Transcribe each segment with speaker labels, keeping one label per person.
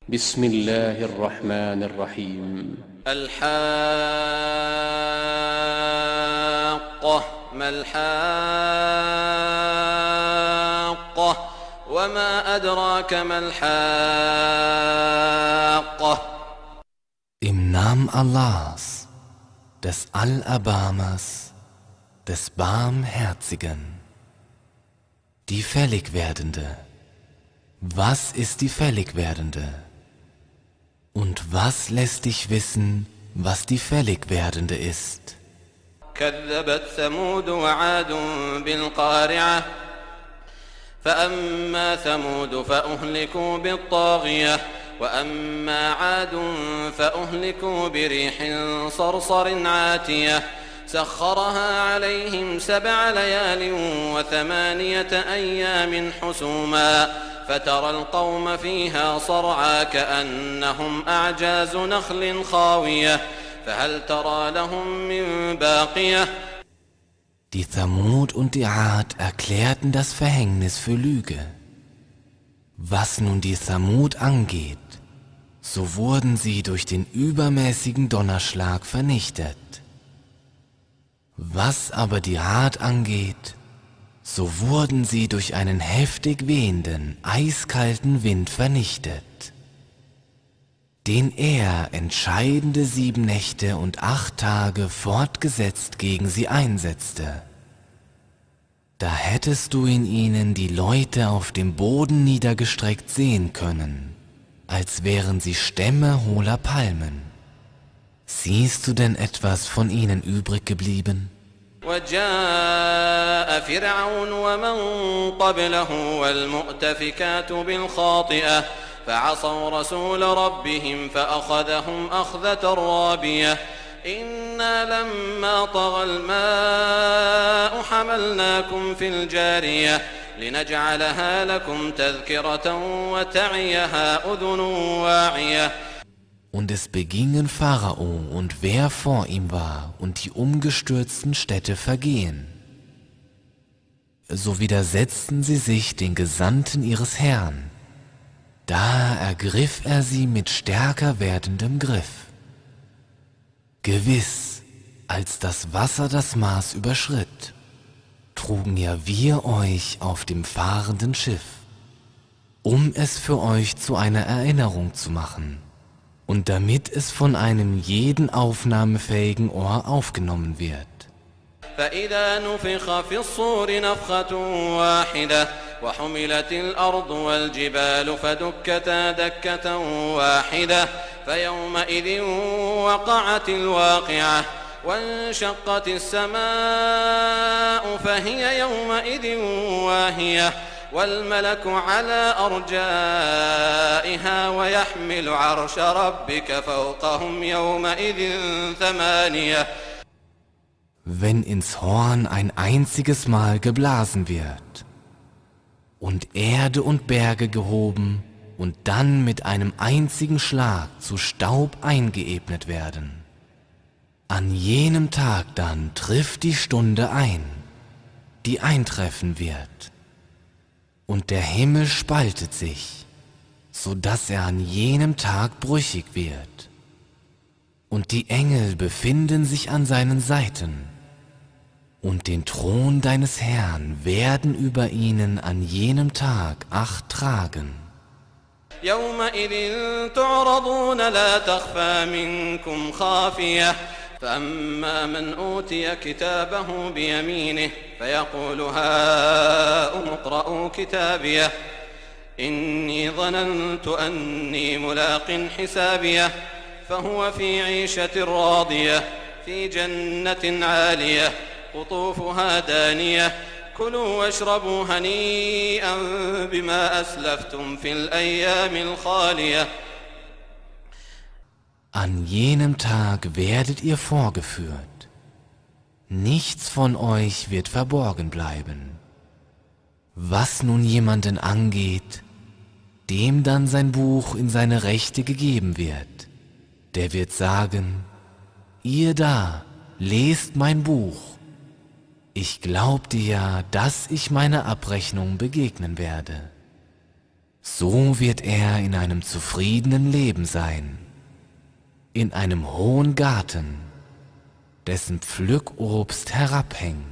Speaker 1: بسم الله الرحمن الرحيم
Speaker 2: الحاقة ما الحاقة وما أدراك ما الحاقة
Speaker 3: Im Namen Allahs, des Allerbarmers, des Barmherzigen. Die Fälligwerdende. Was ist die Fälligwerdende? Und was lässt dich wissen, was die Fälligwerdende ist?
Speaker 2: كذبت ثمود وعاد بالقارعة فأما ثمود فأهلكوا بالطاغية وأما عاد فأهلكوا بريح صرصر عاتية سخرها عليهم 7 ليال و8 أيام حسوما فترى القوم فيها صرعى كأنهم أعجاز نخل خاوية فهل ترى لهم من باقية.
Speaker 3: Die Thamud und die Ad erklärten das Verhängnis für Lüge. Was nun die Thamud angeht, so wurden sie durch den übermäßigen Donnerschlag vernichtet. Was aber die Ad angeht, so wurden sie durch einen heftig wehenden, eiskalten Wind vernichtet, den er entscheidende 7 Nächte und 8 Tage fortgesetzt gegen sie einsetzte. Da hättest du in ihnen die Leute auf dem Boden niedergestreckt sehen können, als wären sie Stämme hohler Palmen. Siehst du denn etwas von ihnen übrig geblieben?
Speaker 2: وجاء فرعون ومن قبله والمؤتفكات بالخاطئة فعصوا رسول ربهم فأخذهم أخذة رابية إنا لما طغى الماء حملناكم في الجارية لنجعلها لكم تذكرة وتعيها أذن واعية.
Speaker 3: Und es begingen Pharao und wer vor ihm war und die umgestürzten Städte vergehen. So widersetzten sie sich den Gesandten ihres Herrn. Da ergriff er sie mit stärker werdendem Griff. Gewiss, als das Wasser das Maß überschritt, trugen ja wir euch auf dem fahrenden Schiff, um es für euch zu einer Erinnerung zu machen. Und damit es von einem jeden aufnahmefähigen Ohr aufgenommen wird.
Speaker 2: فإذا نفخ في الصور نفخة واحدة وحملت الأرض والجبال فدكتا دكة واحدة فيومئذ وقعت الواقعة وانشقت السماء فهي يومئذ واهية والملك على أرجائها ويحمل عرش ربك فوقهم يومئذ 8.
Speaker 3: Wenn ins Horn ein einziges Mal geblasen wird und Erde und Berge gehoben und dann mit einem einzigen Schlag zu Staub eingeebnet werden, an jenem Tag dann trifft die Stunde ein, die eintreffen wird. Und der Himmel spaltet sich, so dass er an jenem Tag brüchig wird. Und die Engel befinden sich an seinen Seiten. Und den Thron deines Herrn werden über ihnen an jenem Tag Acht tragen.
Speaker 2: يومئذ تعرضون لا تخفى منكم خافية فأما من أوتي كتابه بيمينه فيقول هاؤم اقرءوا كتابيه إني ظننت أني ملاق حسابيه فهو في عيشة راضية في جنة عالية قطوفها دانية كلوا واشربوا هنيئا بما أسلفتم في الأيام الخالية.
Speaker 3: An jenem Tag werdet ihr vorgeführt. Nichts von euch wird verborgen bleiben. Was nun jemanden angeht, dem dann sein Buch in seine Rechte gegeben wird, der wird sagen, ihr da, lest mein Buch. Ich glaubte ja, dass ich meiner Abrechnung begegnen werde. So wird er in einem zufriedenen Leben sein, in einem hohen Garten, dessen Pflückobst herabhängt.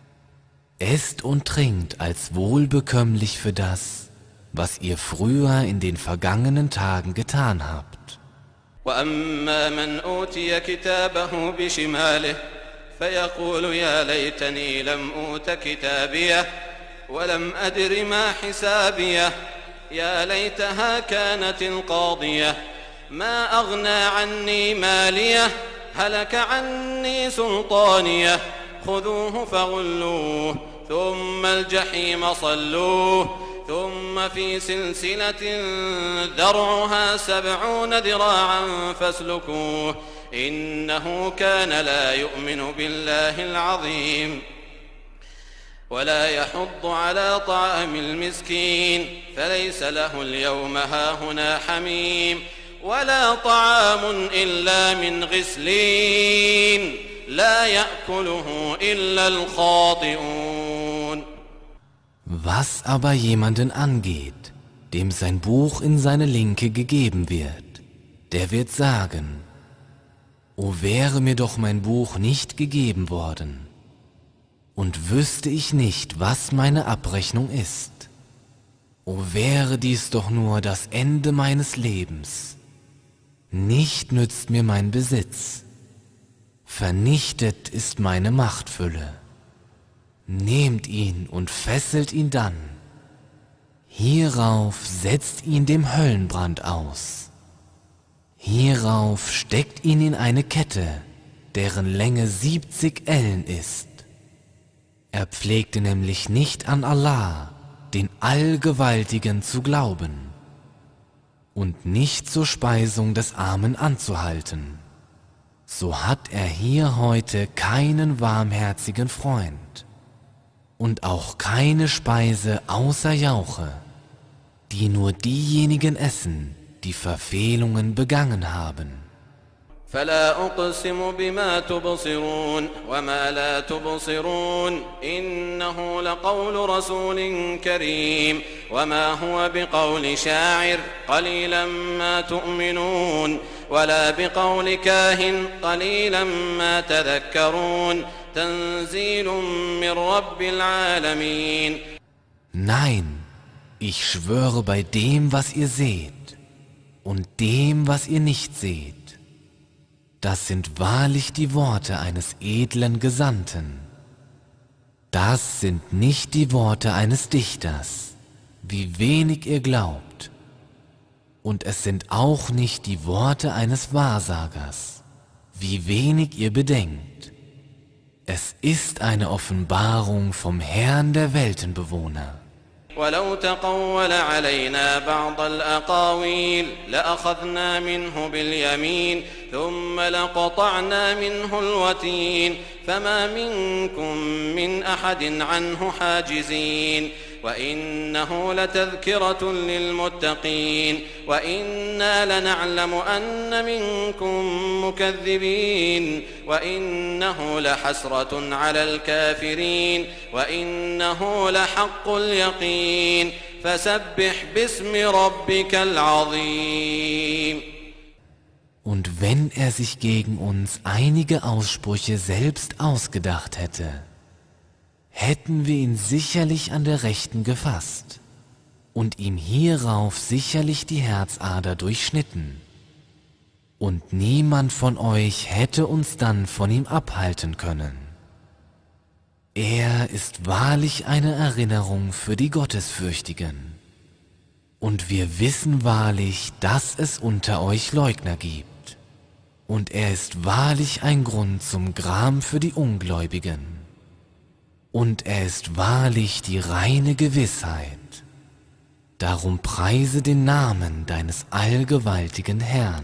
Speaker 3: Esst und trinkt als wohlbekömmlich für das, was ihr früher in den vergangenen Tagen getan habt.
Speaker 2: وأما من أوتي كتابه بشماله فيقول يا ليتني لم أوت كتابيه ولم أدر ما حسابيه يا ليتها كانت القاضية ما أغنى عني ماليه هلك عني سلطانيه خذوه فغلوه ثم الجحيم صلوه ثم في سلسلة ذرعها 70 ذراعا فاسلكوه إنه كان لا يؤمن بالله العظيم ولا يحض على طعام المسكين فليس له اليوم هاهنا حميم ولا طعام إلا من غسلين لا يأكله إلا الخاطئون.
Speaker 3: Was aber jemanden angeht, dem sein Buch in seine Linke gegeben wird, der wird sagen: O wäre mir doch mein Buch nicht gegeben worden, und wüsste ich nicht, was meine Abrechnung ist. O wäre dies doch nur das Ende meines Lebens. Nicht nützt mir mein Besitz, vernichtet ist meine Machtfülle. Nehmt ihn und fesselt ihn dann. Hierauf setzt ihn dem Höllenbrand aus. Hierauf steckt ihn in eine Kette, deren Länge 70 Ellen ist. Er pflegte nämlich nicht an Allah, den Allgewaltigen, zu glauben und nicht zur Speisung des Armen anzuhalten. So hat er hier heute keinen warmherzigen Freund und auch keine Speise außer Jauche, die nur diejenigen essen, die Verfehlungen begangen haben.
Speaker 2: فلا أقسم بما تبصرون وما لا تبصرون إنه لقول رسول كريم وما هو بقول شاعر قليلا ما تؤمنون ولا بقول كاهن قليلا ما تذكرون تنزيل من رب العالمين.
Speaker 3: Nein, ich schwöre bei dem, was ihr seht und dem, was ihr nicht seht. Das sind wahrlich die Worte eines edlen Gesandten. Das sind nicht die Worte eines Dichters, wie wenig ihr glaubt. Und es sind auch nicht die Worte eines Wahrsagers, wie wenig ihr bedenkt. Es ist eine Offenbarung vom Herrn der Weltenbewohner.
Speaker 2: ولو تقول علينا بعض الأقاويل لأخذنا منه باليمين ثم لقطعنا منه الوتين فما منكم من أحد عنه حاجزين وإنه لتذكرة للمتقين وإنا لنعلم أن منكم مكذبين وإنه لحسرة على الكافرين وإنه لحق اليقين فسبح باسم ربك العظيم.
Speaker 3: Und wenn er sich gegen uns einige Aussprüche selbst ausgedacht hätte, hätten wir ihn sicherlich an der Rechten gefasst und ihm hierauf sicherlich die Herzader durchschnitten. Und niemand von euch hätte uns dann von ihm abhalten können. Er ist wahrlich eine Erinnerung für die Gottesfürchtigen. Und wir wissen wahrlich, dass es unter euch Leugner gibt. Und er ist wahrlich ein Grund zum Gram für die Ungläubigen. Und er ist wahrlich die reine Gewissheit. Darum preise den Namen deines allgewaltigen Herrn.